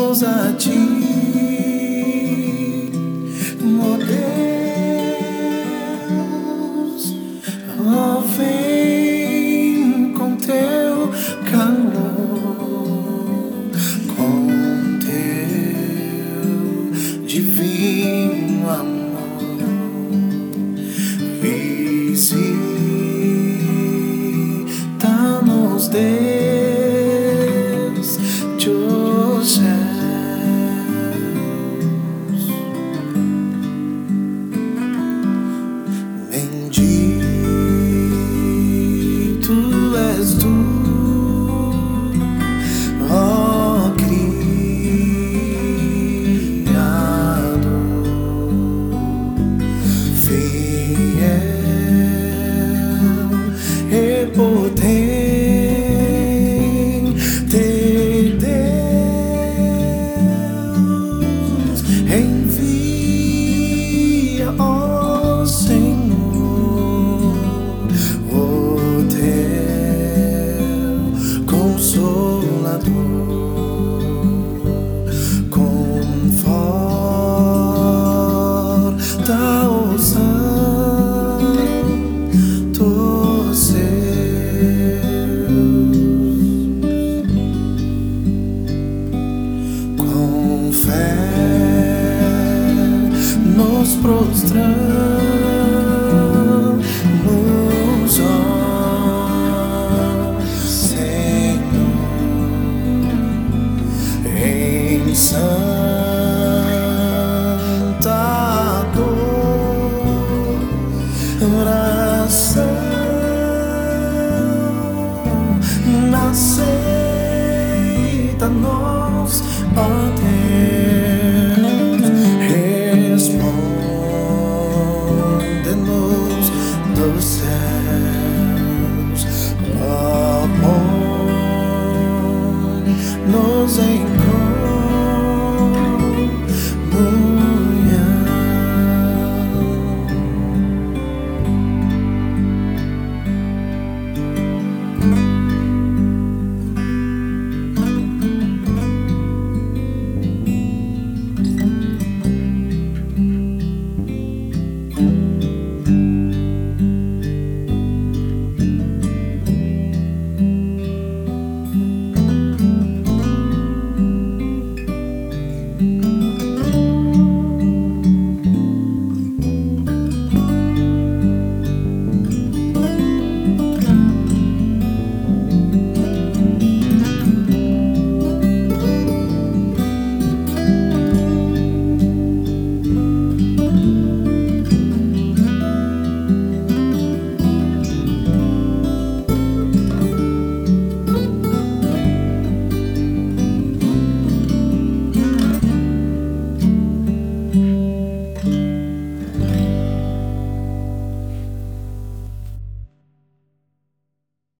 Cantamos a ti, ó Deus, ó, vem com teu calor, com teu divino amor, visita-nos, Deus dos céus. Bendito és tu, ó Criador, fiel e potente Deus, envia, ó Senhor, o teu Consolador, conforta os santos seus. Com fé nos prostramos, ó Senhor, em santa adoração. Aceita-nos, ó Deus.